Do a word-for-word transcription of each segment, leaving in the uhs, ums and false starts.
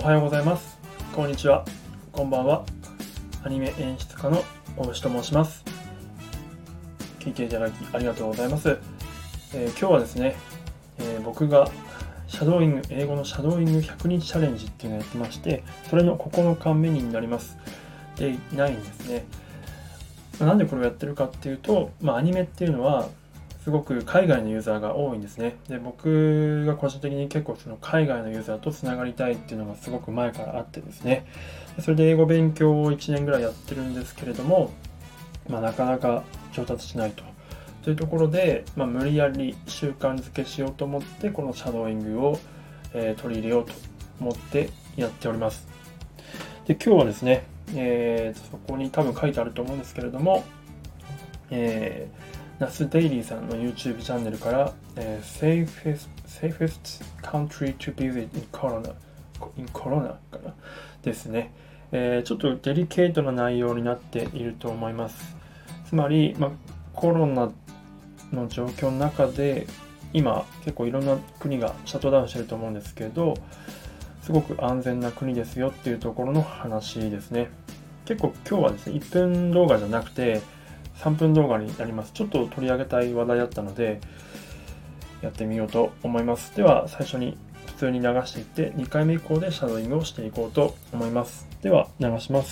おはようございます。こんにちは。こんばんは。アニメ演出家の大牛と申します。聞いていただきありがとうございます。えー、今日はですね、えー、僕がシャドーイング、英語のシャドーイングひゃくにちチャレンジっていうのをやってまして、それのここのか目になります。で、ないんですね。なんでこれをやってるかっていうと、まあ、アニメっていうのはすごく海外のユーザーが多いんですね。で、僕が個人的に結構その海外のユーザーとつながりたいっていうのがすごく前からあってですね。それで英語勉強をいちねんぐらいやってるんですけれども、まあ、なかなか上達しないと。というところで、まあ、無理やり習慣づけしようと思ってこのシャドーイングを、えー、取り入れようと思ってやっております。で、今日はですね、えー、そこに多分書いてあると思うんですけれども、えーナスデイリーさんの YouTube チャンネルから、えー、safest, safest country to visit in corona, in corona かなですね、えー、ちょっとデリケートな内容になっていると思います。つまり、まあ、コロナの状況の中で今結構いろんな国がシャットダウンしてると思うんですけど、すごく安全な国ですよっていうところの話ですね。結構今日はですねいっぷん動画じゃなくてさんぷん動画になります。ちょっと取り上げたい話題だったのでやってみようと思います。では最初に普通に流していってにかいめ以降でシャドーイングをしていこうと思います。では流します。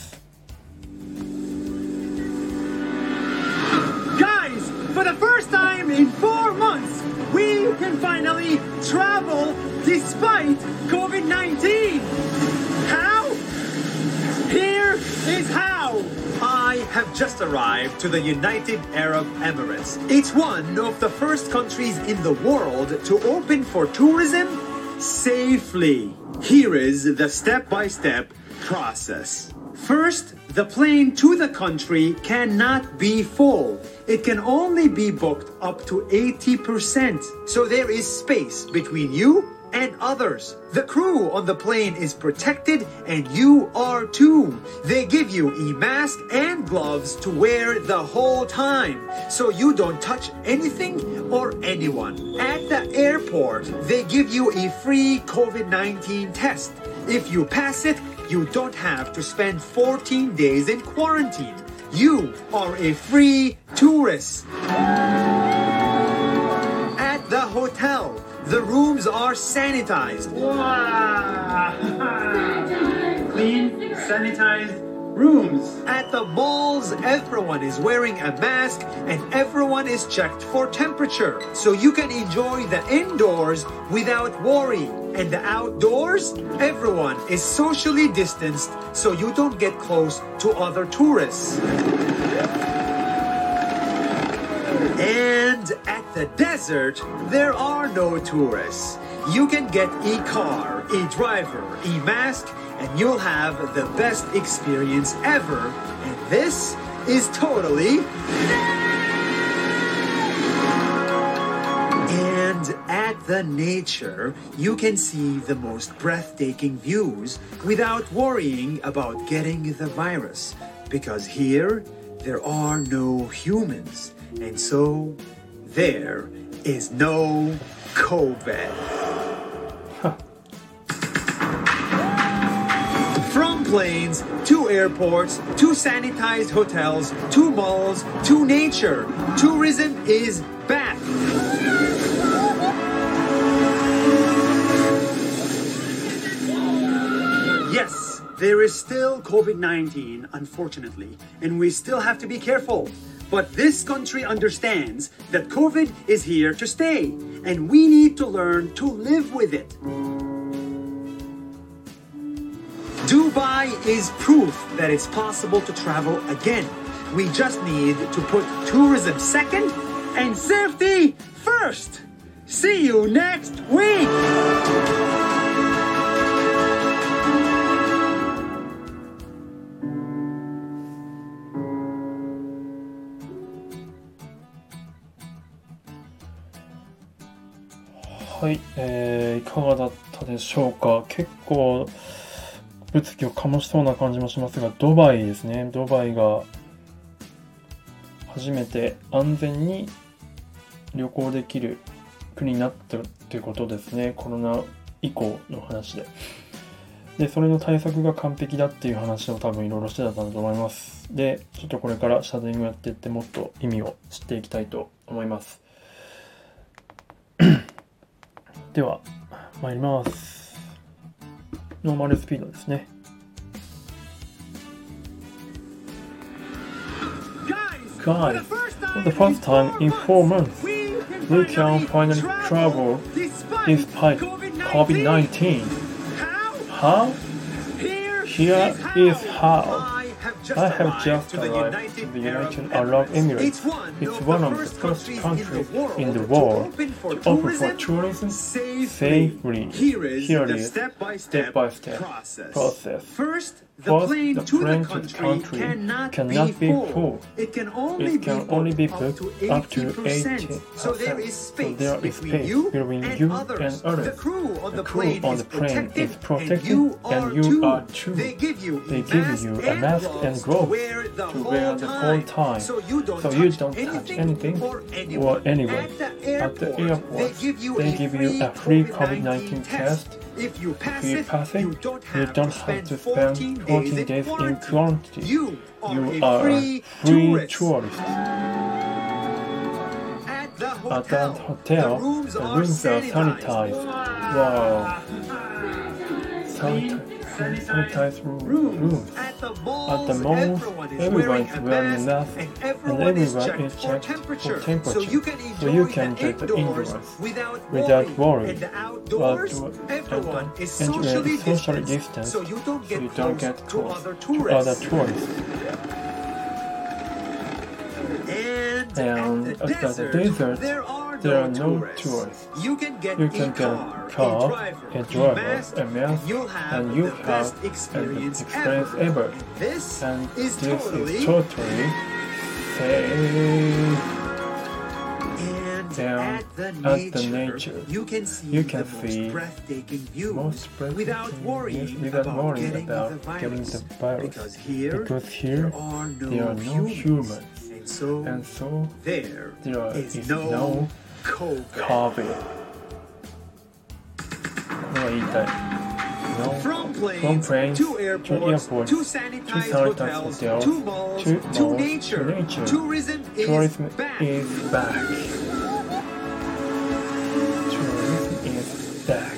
Guys, for the first time in four months, we can finally travel despite COVID nineteen. How? Here is how. I have just arrived to the United Arab Emirates. It's one of the first countries in the world to open for tourism safely. Here is the step-by-step process. First, the plane to the country cannot be full. It can only be booked up to eighty percent. So there is space between you and others. The crew on the plane is protected and you are too. They give you a mask and gloves to wear the whole time so you don't touch anything or anyone. At the airport, they give you a free COVID nineteen test. If you pass it, you don't have to spend fourteen days in quarantine. You are a free tourist. At the hotel, the rooms are sanitized. Wow! Clean, sanitized rooms. At the malls, everyone is wearing a mask and everyone is checked for temperature. So you can enjoy the indoors without worry. And the outdoors, everyone is socially distanced so you don't get close to other tourists. And at the desert, there are no tourists. You can get a car, a driver, a mask, and you'll have the best experience ever. And this is totally... And at the nature, you can see the most breathtaking views without worrying about getting the virus. Because here, there are no humans. And so, there is no COVID. From planes, to airports, to sanitized hotels, to malls, to nature, tourism is back. Yes, there is still COVID nineteen, unfortunately, and we still have to be careful. But this country understands that COVID is here to stay, and we need to learn to live with it. Dubai is proof that it's possible to travel again. We just need to put tourism second and safety first. See you next week! はい、えー、いかがだったでしょうか。結構物議を醸しそうな感じもしますが、ドバイですね。ドバイが初めて安全に旅行できる国になったということですね。コロナ以降の話で。 でそれの対策が完璧だっていう話を多分いろいろしてたんだと思います。でちょっとこれからシャドーイングやっていってもっと意味を知っていきたいと思います。では参ります。ノーマルスピードですね。Guys, for the first time in four months, we can finally travel despite COVID nineteen. How? Here is how. I have just arrived to the United Arab Emirates. It's one of the first countries in the world to open for tourism safely. Here is step-by-step process. First, the plane to the country cannot be full. It can only be booked up to eighty percent. So there is space between you and others. The crew on the plane is protected, and you are too. They give you a mask and gloves to wear the whole time, so you don't touch anything or anyone. At the airport, they give you a free COVID nineteen test. If you pass it, you don't have to spend fourteen days in quarantine. You are a free tourist. At the hotel, the rooms are sanitized. Wow. Sanitized rooms. At the mall, everyone is wearing a mask and everyone is checked for temperature, so you can get indoors without worry. But everyone is socially distanced, so you don't get close to other tourists. And at the desert, there are no tourists. You can get a car, a driver, a mask, and you have an experience ever. And this is totally safe. And at the nature, you can see the most breathtaking views without worrying about getting the virus. Because here, there are no humans. So, and so there, there is, is no COVID. No, from planes, planes to airports, to, airports, to sanitized to hotels, hotels, to malls, to, malls, to, nature. to nature. Tourism, Tourism is, back. is back. Tourism is back.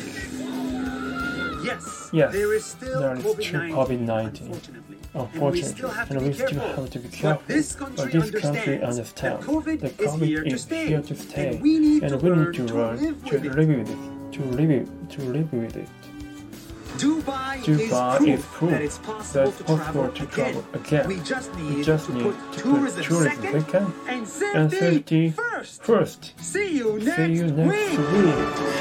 Yes, yes, there is still COVID nineteen. Unfortunately, and we still have to be careful, but this country understands that COVID is here to stay, and we need to learn to live with it, to live, to live with it. Dubai, Dubai is proof that it's possible, that it's possible to, travel to travel again. We just need, we just need to put tourism, tourism second, second and safety, and safety first. first. See you next, See you next week. week.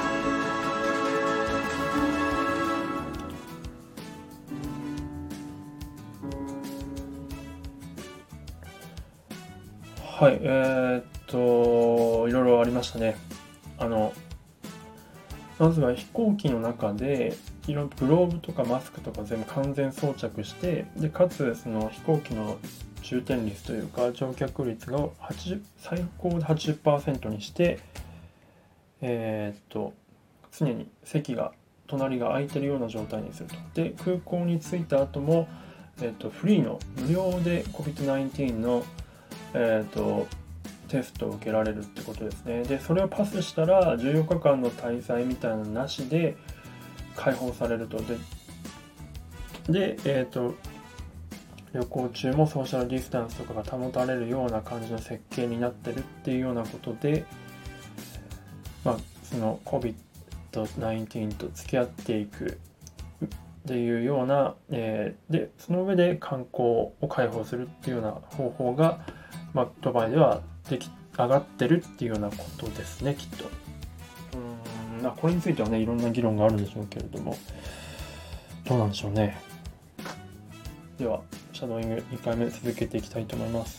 はい、えー、っといろいろありましたね。あのまずは飛行機の中でいろんなグローブとかマスクとか全部完全装着して、でかつその飛行機の充填率というか乗客率がはちじゅう最高で はちじゅっパーセント にして、えー、っと常に席が隣が空いてるような状態にすると。で空港に着いた後も、えー、っとフリーの無料で コビッドナインティーン のえー、とテストを受けられるってことですね。でそれをパスしたらじゅうよっかかんの滞在みたいなのなしで解放されると。で、でえー、と旅行中もソーシャルディスタンスとかが保たれるような感じの設計になってるっていうようなことで、まあ、その コビッドナインティーン と付き合っていくっていうような、えー、でその上で観光を開放するっていうような方法が、まあ、ドバイではでき上がってるっていうようなことですね、きっと。うーん、まあ、これについてはねいろんな議論があるんでしょうけれども、どうなんでしょうね。ではシャドーイングにかいめ続けていきたいと思います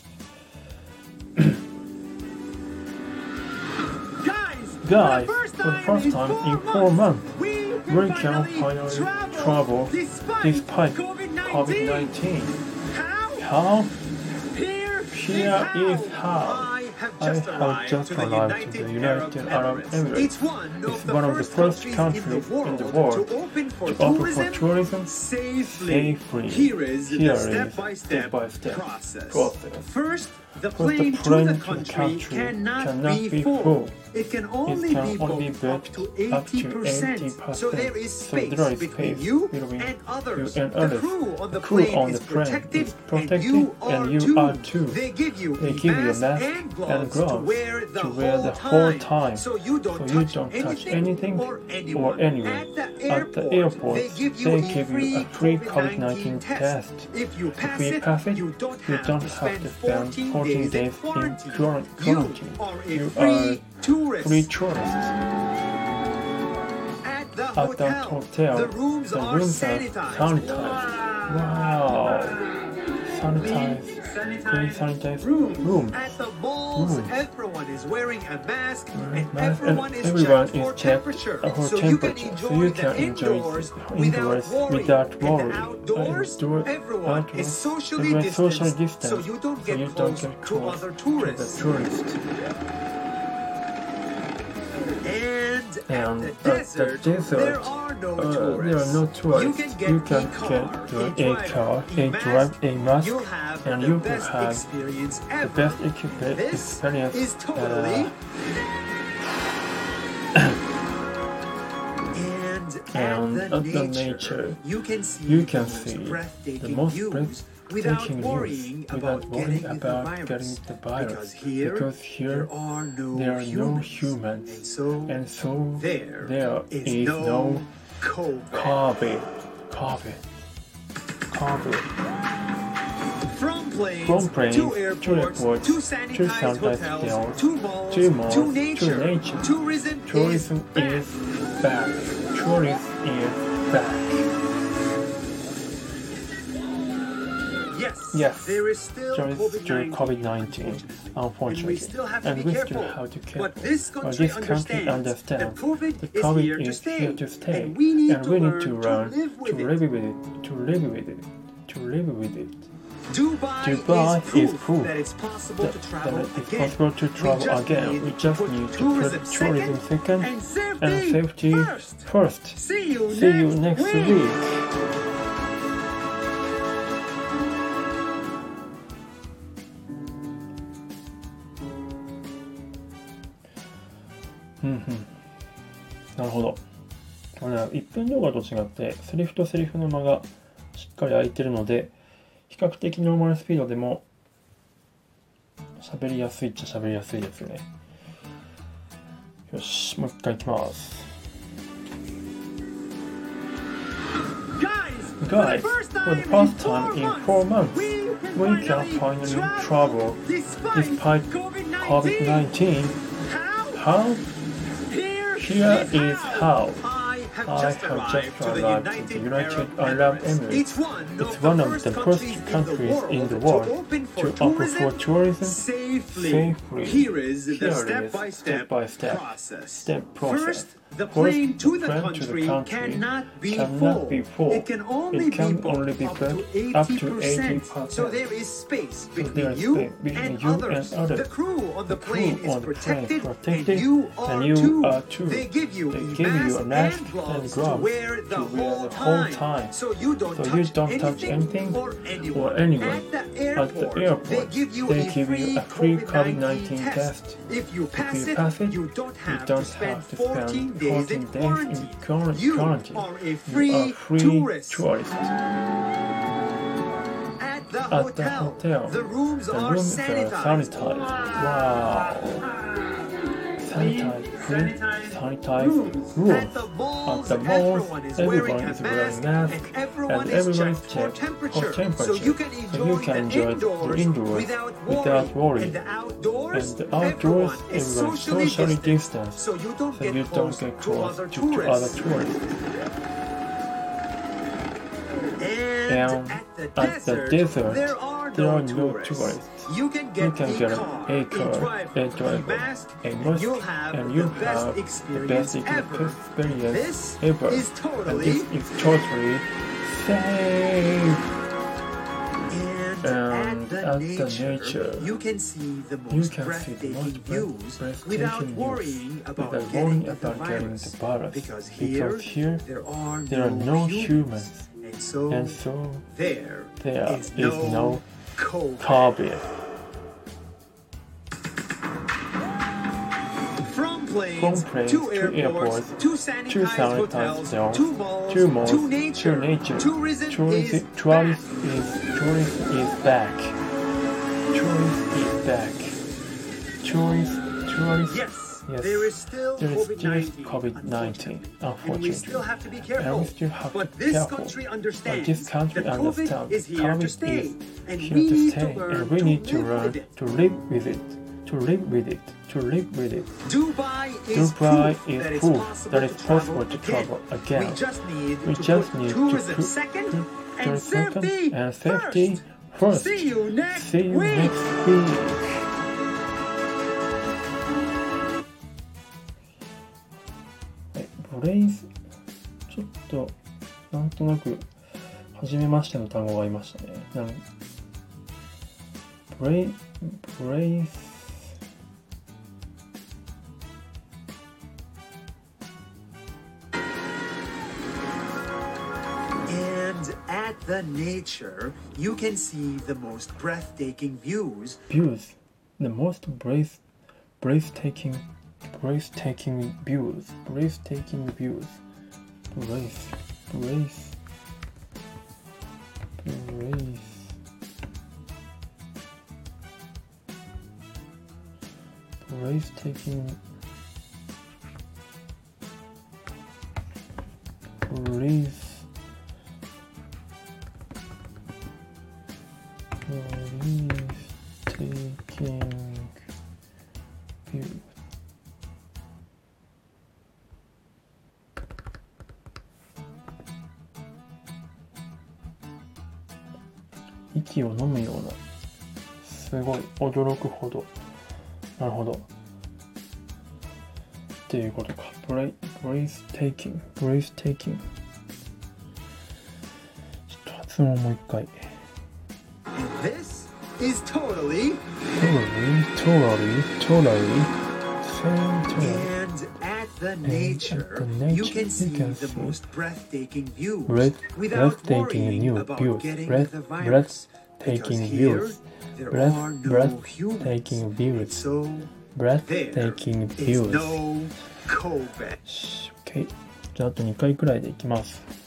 。Guys, for the first time in four months, we can finally travel despite COVID nineteen. How? Here is how. just I have arrived just to the arrived to the United United Arab Arab Emirates. Emirates. It's one It's of the one of the first first countries countries in the world, in the world to open for to open tourism, for tourism safely. safely. Here is Here the is step-by-step step-by-step process. process. First, the First, plane, the plane to the to the country, country cannot, cannot be, be full. full. It can It only can be only be booked up booked to up to eighty percent. eighty percent. So there is So space there is between space you between and others. you and The others. crew on the The crew plane on is the plane protected, is protected, and you are and you too. are too. They give you They a give you a mask mask and and gloves, gloves to wear the, to whole, wear the time, whole time, so you don't, so you touch, don't touch anything anything or anyone. or anyone. At the At airport, the airport, they give you, they a, give free you a free COVID COVID nineteen test. If you pass, If you it, pass it, you don't you have don't to have spend to spend fourteen, fourteen days in days in quarantine. quarantine. You are a You free are tourist. free tourists. At the At hotel, that hotel, the rooms, the are, rooms are sanitized. sanitized. Wow! Sanitized, clean sanitized Rooms. rooms. At the malls, Rooms. everyone is wearing a mask, and Mask, everyone and is everyone checked for is checked temperature, for so you can temperature, enjoy so you the can enjoy indoors the without indoors worry. without And worry. the outdoors, Outdoor- everyone outdoors, is socially everyone distanced, social distance, so you don't so get you close don't get to close other to the tourists. tourists. And, And at the at desert, the desert, there are no Uh, tourists. there are no tourists. You can get You can a car, get a a driver, car, a a mask. drive, a mask, You'll have and the you will best have experience the ever. best equipment This experience. is totally. And and at at the the nature, nature, you can see you the can most see breathtaking the most views without breathtaking worrying views about without worrying getting about the getting virus. the virus. Because here, Because here there are no there are no humans. humans, And so, and so there there is, is no, no COVID. COVID. COVID. COVID. From planes, From planes to to airports, airports, to to sanitized sanitized hotels, hotels, to malls, to malls, to to nature. nature. Tourism, Tourism is is back. Tourism is back. Yes, Yes, there is still There is still COVID COVID nineteen, unfortunately, and we still have to and be we careful. still have to be careful. But this But country this country understands understands that COVID, the is, COVID here to is stay, here to stay, and we need, and to, we learn need to learn to live with to it. live with it, to live with it, to live with it. Dubai, Dubai is, proof is proof that it's possible That, to that travel it is again. possible to travel just again. need We just put need to tourism put tourism second and safety, and safety first. first. See you See next, you next week. week.うんうん、なるほど。これね、いっぷん動画と違ってセリフとセリフの間がしっかり空いてるので、比較的ノーマルスピードでも喋りやすいっちゃ喋りやすいですね。よし、もう一回いきます。Guys, for the first time in four months, we can finally travel despite COVID nineteen. How? Here is how. I have just arrived to the United Arab Emirates. It's one of the first countries in the world to open for tourism safely. Here is the step-by-step process. Step process. The plane to the plane country, to the country cannot, be, cannot full. be full. It can only It can be booked only be up to booked up to eighty percent. eighty percent. So there is space there between is you, space between and, you others. and others. The crew on the, The plane crew is on the plane protected, protected, and you are, and you too. are too. They give you, They a, give mask you a mask and gloves, and to gloves wear the, to whole, wear the whole time. time. So you don't, So touch, you don't touch anything anything or anyone. or anyone. At the At airport, the airport, they give you, they a, give free you a free COVID COVID nineteen nineteen test. test. If you pass, If you it, pass it, you don't you have don't to spend have to fourteen spend days in fourteen days quarantine. in quarantine. You quarantine. are a You free, are free tourist. tourist. At the, At hotel, the hotel, the rooms the are rooms are sanitized. sanitized. Wow. Sanitized, clean, sanitized rooms. At the malls, At the malls, everyone is everyone wearing a is wearing mask, mask, and everyone and is everyone checked is for checked temperature. for temperature. So you can enjoy, So you can the, enjoy indoors the indoors without worry. without worry. And the outdoors, And the outdoors, everyone is everyone is socially, socially distanced, distanced, so you don't so get you close, don't get to close other to, to tourists. other tourists. And, And at the at desert, the desert, there are there no, are no tourists. tourists. You can get, You can a, get car, a a car, driver, a driver, a mask, a and mask, you'll have and you the best have the experience best ever. experience This ever. is And totally this is totally safe. And And at the nature, you can see the you most can see the breathtaking most views breathtaking without views worrying about without getting worrying the about getting virus. the virus. Because here, Because here there are there are no no humans. humans, And so, and so there there is is no no COVID. COVID. From planes, From planes to to airports, airports, to to sanitized sanitized hotels, hotels, to malls, to malls, to nature, to nature. tourism, Tourism, is tourism back. is tourism is back. Tourism is back. Tourist, tourist. Yes, Yes. there is still There is still COVID COVID nineteen, nineteen, and we still unfortunately. have to be And careful. we still have But to be this careful. country But understands this country that understands COVID is here COVID to is stay, and here we to need stay, to learn and we to need to live learn with it. to live with it, to live with it, to live with it. Dubai is Dubai proof is that it's proof possible that it's to travel possible to again. travel again. We just need We to just put need to tourism put second put and tourism safety and safety first. first. See you next See you week. next week. ブレイズ、ちょっとなんとなく初めましての単語がありましたね。なんブレイブレイズ And at the nature, you can see the most breathtaking views. views, the most breath breathtaking breathtaking views, breathtaking views, breath, breath, breath, breathtaking, breath, breathtaking views. 息を飲むような、すごい驚くほど、なるほどっていうことか。ブレイブレイステイキングブレイステイキング、ちょっと発音もう一回。 This is totally totally totally totally same totally and at the nature, you can see the most breathtaking views breath without breathtaking worrying new about views getting breath the virus. Because breathtaking here, views there breath are no breathtaking humans. views So breathtaking there is views no COVID. OK じゃああとにかいくらいでいきます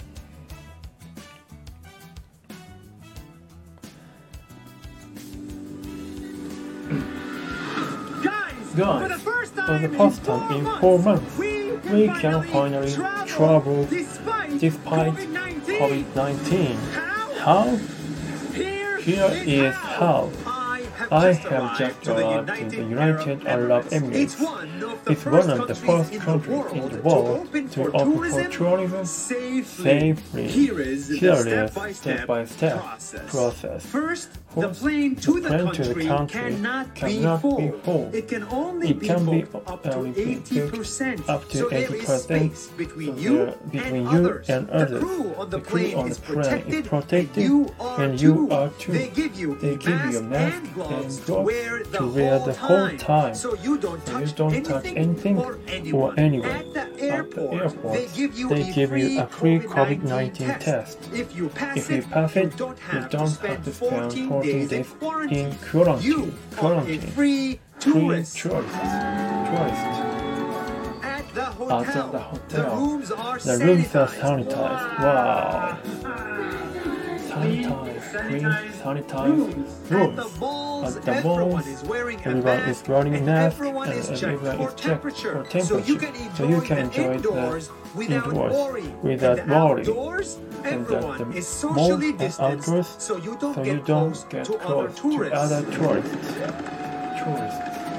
。Guys, for the first for time, the first time in four months, we we can can finally finally travel travel despite, despite COVID COVID nineteen. How? How? Here, Here is how. I I have have just just arrived arrived to the in the United United Arab Arab Emirates. Emirates. It's one of the first countries in the world to open for tourism safely. Here is the step-by-step process. First, the plane to the country cannot be full. It can only be booked up to eighty percent. So there is space between you and others. The crew on the plane is protected, and you are too. They give you a mask and gloves to wear the whole time, so you don't touch anything or anyone. At the airport, they give you a free COVID nineteen test. If you pass it, you don't have to spend fourteen days in quarantine. You are a free tourist. At the hotel, the rooms are The rooms are sanitized. sanitized. Wow. Sanitized, clean, sanitized rooms. At the malls, At the everyone malls, is wearing a everyone mask, is wearing a and mask, everyone and is checked everyone for is checked temperature. for So you can temperature. enjoy, So you can enjoy the the indoors without indoors worry. without and the worry. outdoors, And that everyone the is socially malls and distanced, outdoors, so you don't so get you don't close get to other close to tourists. other tourists. Tourists.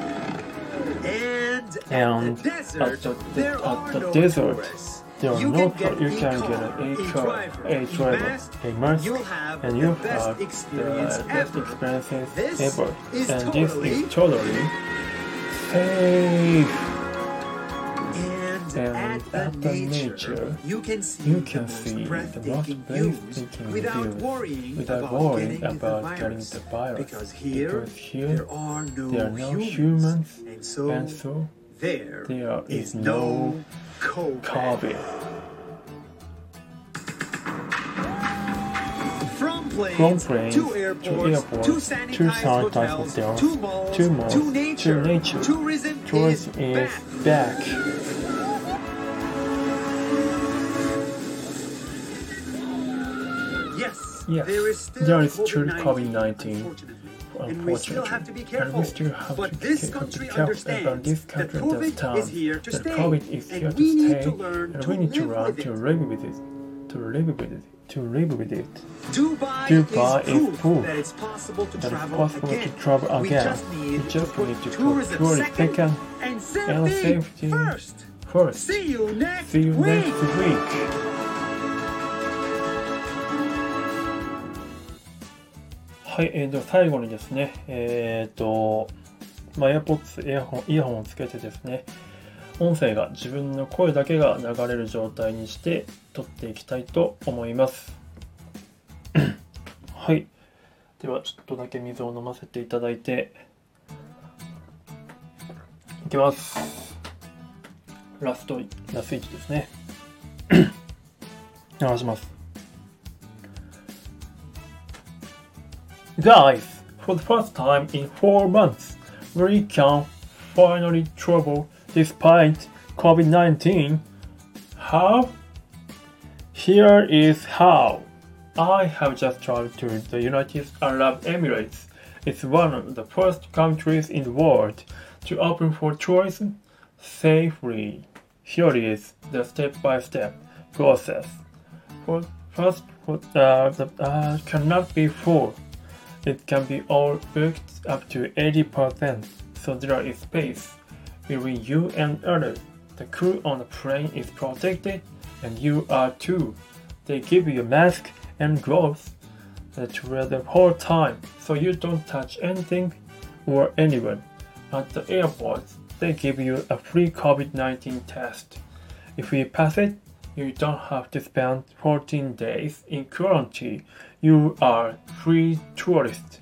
And, And at the desert, at the, there at are the no desert, tourists. there are You no can get tourists. You a can car, get a, a car, driver, a driver, mask, a mask, you'll have and the you best have experience the best ever. experiences This ever. is And totally this is totally safe. And, And at the at the nature, nature, you can see you the can most see the most breathtaking views breathtaking without views worrying without about worrying getting the about getting virus. the virus. Because here, Because here there are no, there are no humans, humans, and so, and so there, there is is no no COVID. COVID. From planes, From planes to airports, to airports, to to sanitized sanitized hotels, hotels, to malls, to malls, to nature, to nature. tourism, Tourism is, is back. back. Yes, Yes, there is still there is still COVID COVID nineteen, unfortunately. And we still have to be careful. And we still have but to this be country careful. understands But this that country COVID understands is here to that stay. COVID is and here we to need stay, to learn and to we need to live learn with to it. live with it, to live with it, to live with it. Dubai, Dubai is, is proof proof that it's possible to That it's travel possible again. to travel We again. just need, We just to, put need to put tourism, tourism second, second and safety, and safety first. first. See you next See you week. next week. はい、えー、では最後にですね、えっと、まあ、AirPods、イヤホン、イヤホンをつけてですね、音声が自分の声だけが流れる状態にして撮っていきたいと思います。はい。では、ちょっとだけ水を飲ませていただいて、いきます。ラスト、ラスイチですね。流します。Guys, for the first time in four months, we can finally travel despite COVID nineteen. How? Here is how. I have just traveled to the United Arab Emirates. It's one of the first countries in the world to open for tourism safely. Here is the step-by-step process. For first, for, uh, the uh, cannot be full. It can be all booked up to eighty percent, so there is space between you and others. The crew on the plane is protected, and you are too. They give you a mask and gloves to wear the whole time, so you don't touch anything or anyone. At the airports, they give you a free COVID nineteen test. If you pass it, you don't have to spend fourteen days in quarantine. You are free tourist.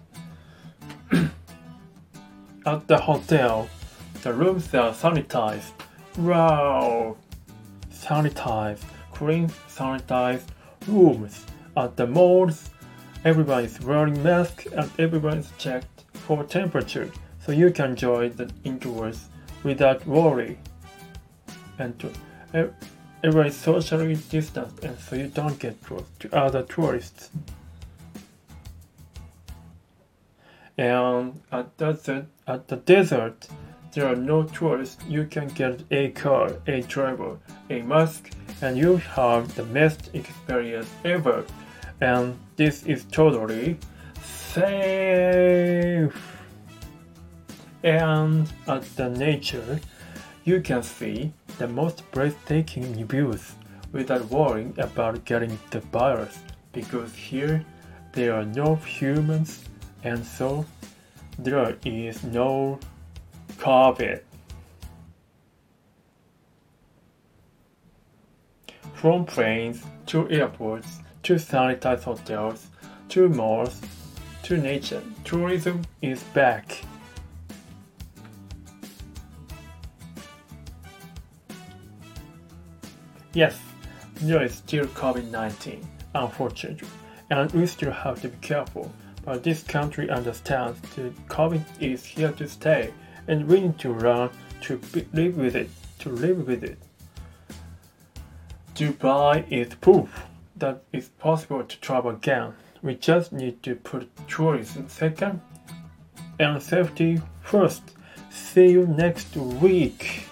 At the hotel, the rooms are sanitized. Wow! Sanitized, clean, sanitized rooms. At the malls, everyone is wearing masks and everyone is checked for temperature, so you can enjoy the indoors without worry. And to, everyone is socially distanced, and so you don't get close to other tourists. And at the, at the desert, there are no tourists. You can get a car, a driver, a mask, and you have the best experience ever. And this is totally safe. And at the nature, you can see the most breathtaking views without worrying about getting the virus, because here there are no humans, and so there is no COVID. From planes to airports to sanitized hotels to malls to nature, tourism is back. Yes, there is still COVID nineteen, unfortunately, and we still have to be careful. But this country understands that COVID is here to stay, and we need to learn to be, live with it, to live with it. Dubai is proof that it's possible to travel again. We just need to put tourism second and safety first. See you next week.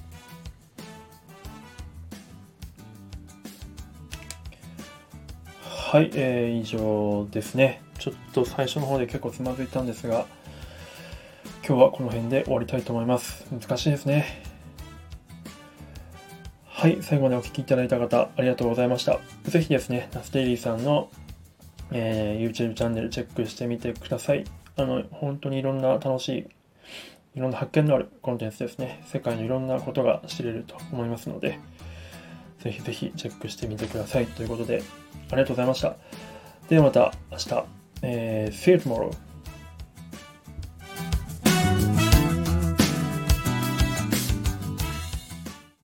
はい、えー、以上ですね。ちょっと最初の方で結構つまずいたんですが、今日はこの辺で終わりたいと思います。難しいですね。はい、最後までお聞きいただいた方、ありがとうございました。ぜひですね、ナスデイリーさんの、えー、YouTube チャンネルチェックしてみてください。あの、本当にいろんな楽しい、いろんな発見のあるコンテンツですね。世界のいろんなことが知れると思いますので、 ぜひぜひチェックしてみてくださいということで、ありがとうございました。ではまた明日、えー、See you tomorrow!